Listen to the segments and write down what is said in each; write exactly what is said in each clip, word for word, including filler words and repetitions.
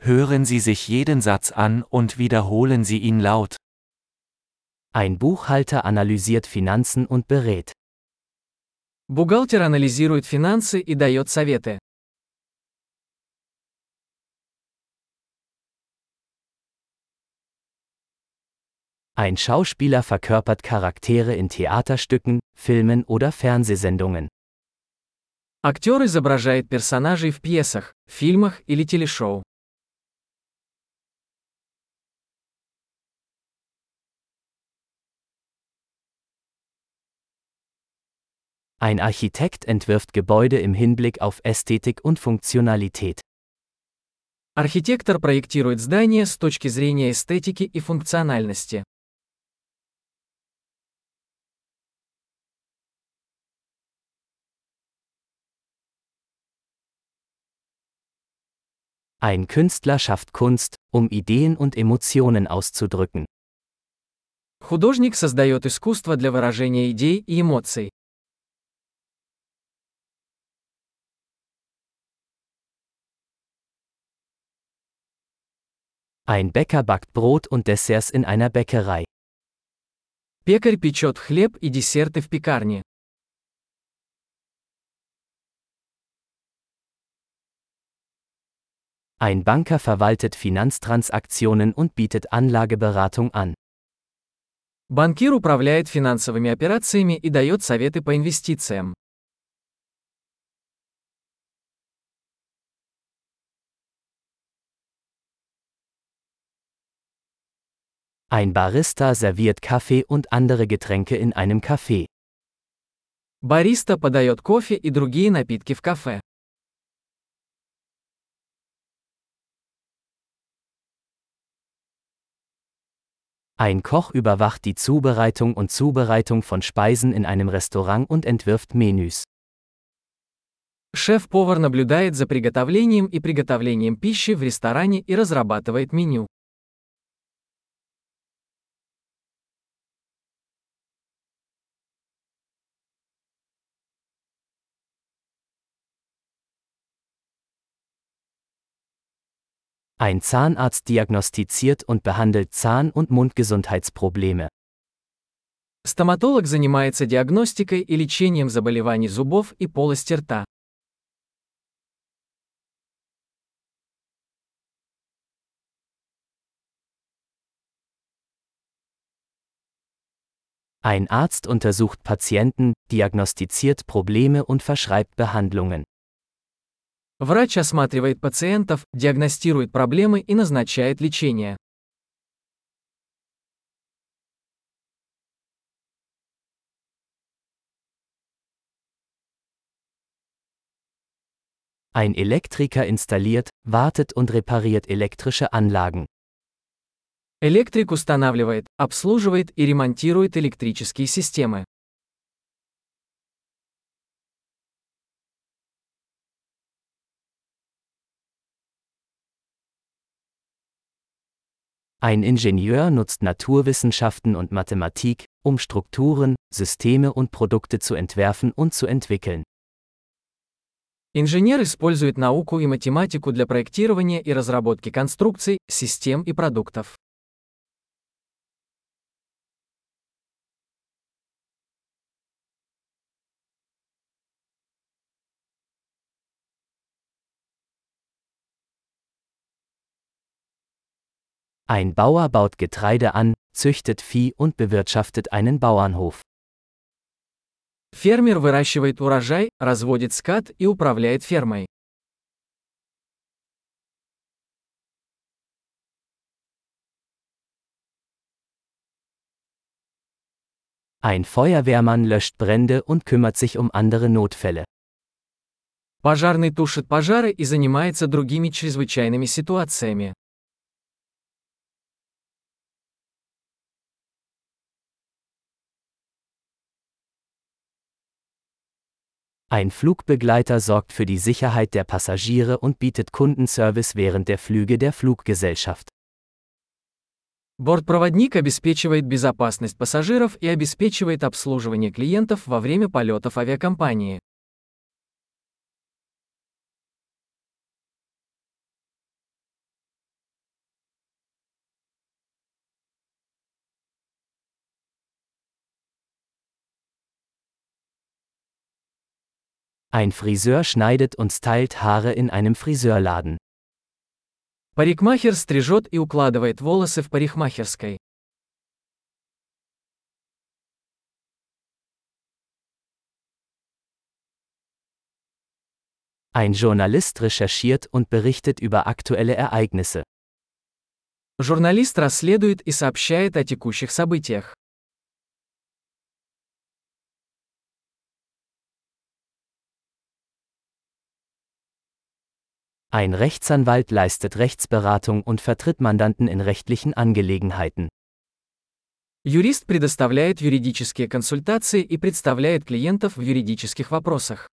Hören Sie sich jeden Satz an und wiederholen Sie ihn laut. Ein Buchhalter analysiert Finanzen und berät. Бухгалтер анализирует финансы и дает советы. Ein Schauspieler verkörpert Charaktere in Theaterstücken, Filmen oder Fernsehsendungen. Актер изображает персонажей в пьесах, фильмах или телешоу. Ein Architekt entwirft Gebäude im Hinblick auf Ästhetik und Funktionalität. Архитектор проектирует здания с точки зрения эстетики и функциональности. Ein Künstler schafft Kunst, um Ideen und Emotionen auszudrücken. Художник создает искусство для выражения идей и эмоций. Ein Bäcker backt Brot und Desserts in einer Bäckerei. Пекарь печет хлеб и десерты в пекарне. Ein Banker verwaltet Finanztransaktionen und bietet Anlageberatung an. Банкир управляет финансовыми операциями и дает советы по инвестициям. Ein Barista serviert Kaffee und andere Getränke in einem Café. Бариста подает кофе и другие напитки в кафе. Ein Koch überwacht die Zubereitung und Zubereitung von Speisen in einem Restaurant und entwirft Menüs. Шеф-повар наблюдает за приготовлением и приготовлением пищи в ресторане и разрабатывает меню. Ein Zahnarzt diagnostiziert und behandelt Zahn- und Mundgesundheitsprobleme. Стоматолог занимается диагностикой и лечением заболеваний зубов и полости рта. Ein Arzt untersucht Patienten, diagnostiziert Probleme und verschreibt Behandlungen. Врач осматривает пациентов, диагностирует проблемы и назначает лечение. Ein Elektriker installiert, wartet und repariert elektrische Anlagen. Электрик устанавливает, обслуживает и ремонтирует электрические системы. Ein Ingenieur nutzt Naturwissenschaften und Mathematik, um Strukturen, Systeme und Produkte zu entwerfen und zu entwickeln. Инженер использует науку и математику для проектирования и разработки конструкций, систем и продуктов. Ein Bauer baut Getreide an, züchtet Vieh und bewirtschaftet einen Bauernhof. Фермер выращивает урожай, разводит скот и управляет фермой. Ein Feuerwehrmann löscht Brände und kümmert sich um andere Notfälle. Пожарный тушит пожары и занимается другими чрезвычайными ситуациями. Ein Flugbegleiter sorgt für die Sicherheit der Passagiere und bietet Kundenservice während der Flüge der Fluggesellschaft. Бортпроводник обеспечивает безопасность пассажиров и обеспечивает обслуживание клиентов во время полетов авиакомпании. Ein Friseur schneidet und stylt Haare in einem Friseurladen. Парикмахер стрижет и укладывает волосы в парикмахерской. Ein Journalist recherchiert und berichtet über aktuelle Ereignisse. Журналист расследует и сообщает о текущих событиях. Ein Rechtsanwalt leistet Rechtsberatung und vertritt Mandanten in rechtlichen Angelegenheiten. Юрист предоставляет юридические консультации и представляет клиентов в юридических вопросах.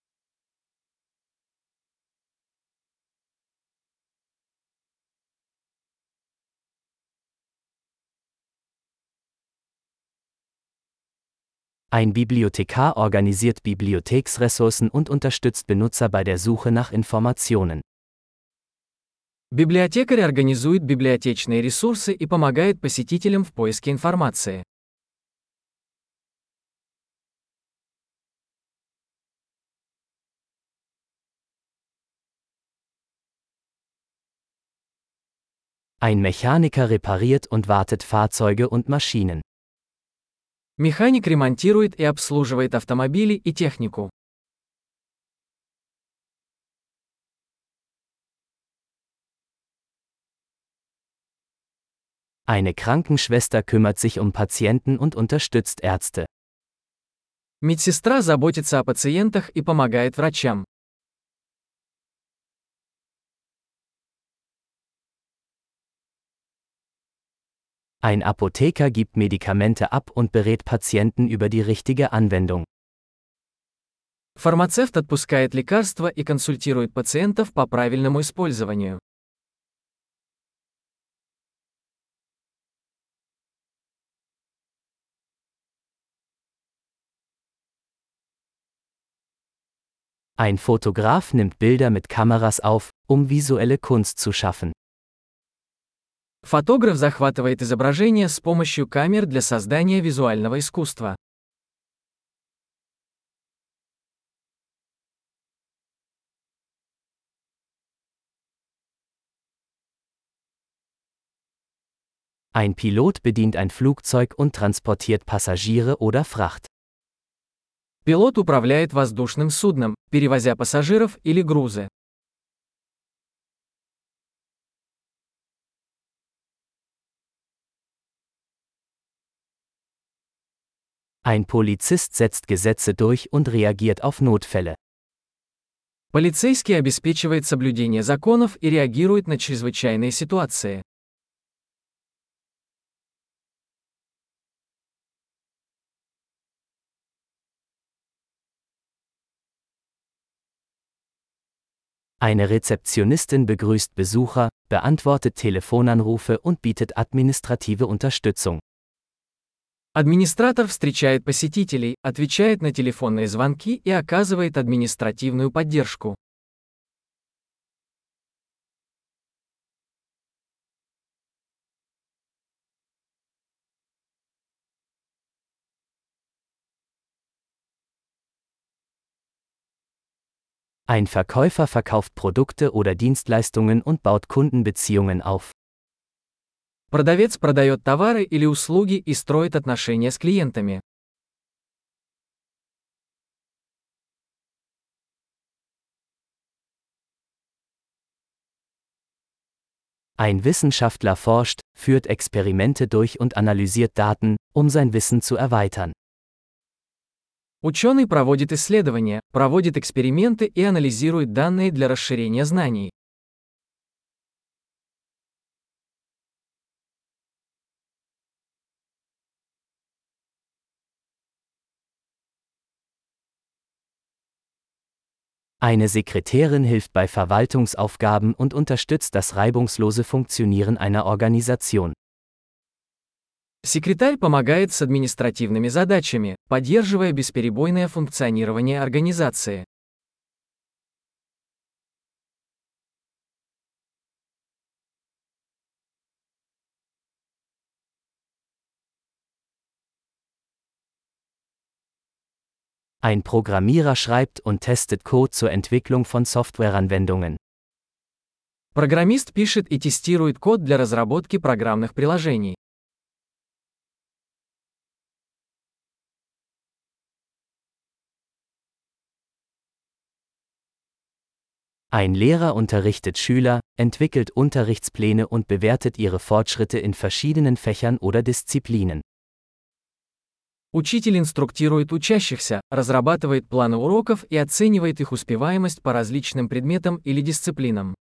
Ein Bibliothekar organisiert Bibliotheksressourcen und unterstützt Benutzer bei der Suche nach Informationen. Библиотекарь организует библиотечные ресурсы и помогает посетителям в поиске информации. Ein Mechaniker repariert und wartet Fahrzeuge und Maschinen. Механик ремонтирует и обслуживает автомобили и технику. Eine Krankenschwester kümmert sich um Patienten und unterstützt Ärzte. Медсестра заботится о пациентах и помогает врачам. Ein Apotheker gibt Medikamente ab und berät Patienten über die richtige Anwendung. Фармацевт отпускает лекарства и консультирует пациентов по правильному использованию. Ein Fotograf nimmt Bilder mit Kameras auf, um visuelle Kunst zu schaffen. Фотограф захватывает изображения с помощью камер для создания визуального искусства. Ein Pilot bedient ein Flugzeug und transportiert Passagiere oder Fracht. Пилот управляет воздушным судном, перевозя пассажиров или грузы. Ein Polizist setzt Gesetze durch und reagiert auf Notfälle. Полицейский обеспечивает соблюдение законов и реагирует на чрезвычайные ситуации. Eine Rezeptionistin begrüßt Besucher, beantwortet Telefonanrufe und bietet administrative Unterstützung. Администратор встречает посетителей, отвечает на телефонные звонки и оказывает административную поддержку. Ein Verkäufer verkauft Produkte oder Dienstleistungen und baut Kundenbeziehungen auf. Продавец продает товары или услуги и строит отношения с клиентами. Ein Wissenschaftler forscht, führt Experimente durch und analysiert Daten, um sein Wissen zu erweitern. Ученый проводит исследования, проводит эксперименты и анализирует данные для расширения знаний. Eine Sekretärin hilft bei Verwaltungsaufgaben und unterstützt das reibungslose Funktionieren einer Organisation. Секретарь помогает с административными задачами, поддерживая бесперебойное функционирование организации. Ein Programmierer schreibt und testet Code zur Entwicklung von Softwareanwendungen. Программист пишет и тестирует код для разработки программных приложений. Ein Lehrer unterrichtet Schüler, entwickelt Unterrichtspläne und bewertet ihre Fortschritte in verschiedenen Fächern oder Disziplinen. Учитель инструктирует учащихся, разрабатывает планы уроков и оценивает их успеваемость по различным предметам или дисциплинам.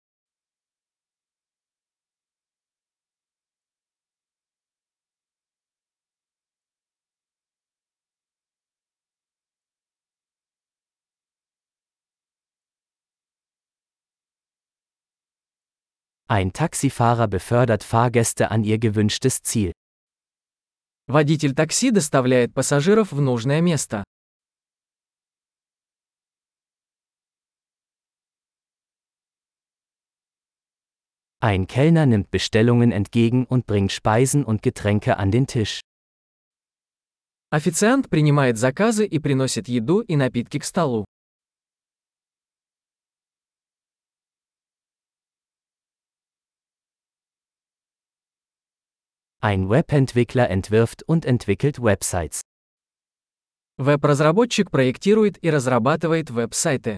Ein Taxifahrer befördert Fahrgäste an ihr gewünschtes Ziel. Водитель такси доставляет пассажиров в нужное место. Ein Kellner nimmt Bestellungen entgegen und bringt Speisen und Getränke an den Tisch. Официант принимает заказы и приносит еду и напитки к столу. Ein Webentwickler entwirft und entwickelt Websites. Веб-разработчик проектирует и разрабатывает веб-сайты.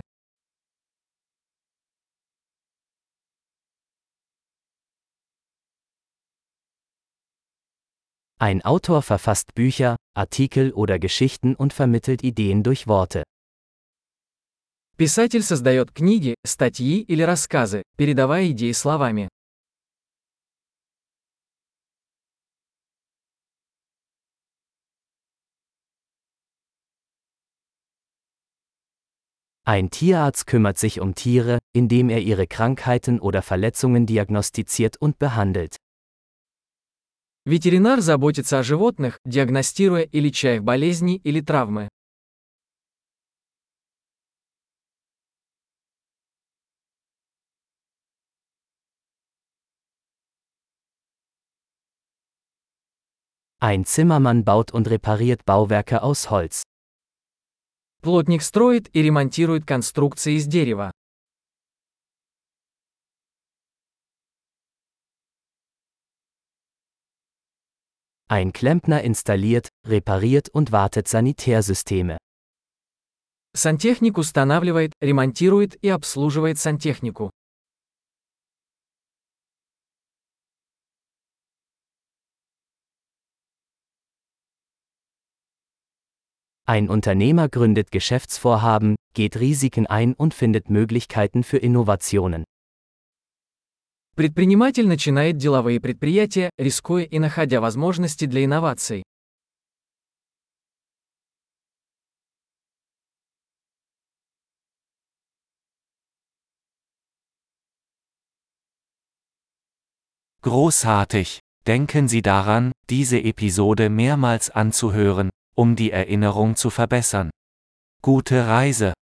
Ein Autor verfasst Bücher, Artikel oder Geschichten und vermittelt Ideen durch Worte. Писатель создает книги, статьи или рассказы, передавая идеи словами. Ein Tierarzt kümmert sich um Tiere, indem er ihre Krankheiten oder Verletzungen diagnostiziert und behandelt. Ветеринар заботится о животных, диагностируя и леча их болезни или травмы. Ein Zimmermann baut und repariert Bauwerke aus Holz. Плотник строит и ремонтирует конструкции из дерева. Ein Klempner installiert, repariert und wartet Sanitärsysteme. Сантехник устанавливает, ремонтирует и обслуживает сантехнику. Ein Unternehmer gründet Geschäftsvorhaben, geht Risiken ein und findet Möglichkeiten für Innovationen. Предприниматель начинает деловые предприятия, рискуя и находя возможности для инноваций. Großartig! Denken Sie daran, diese Episode mehrmals anzuhören, um die Erinnerung zu verbessern. Gute Reise!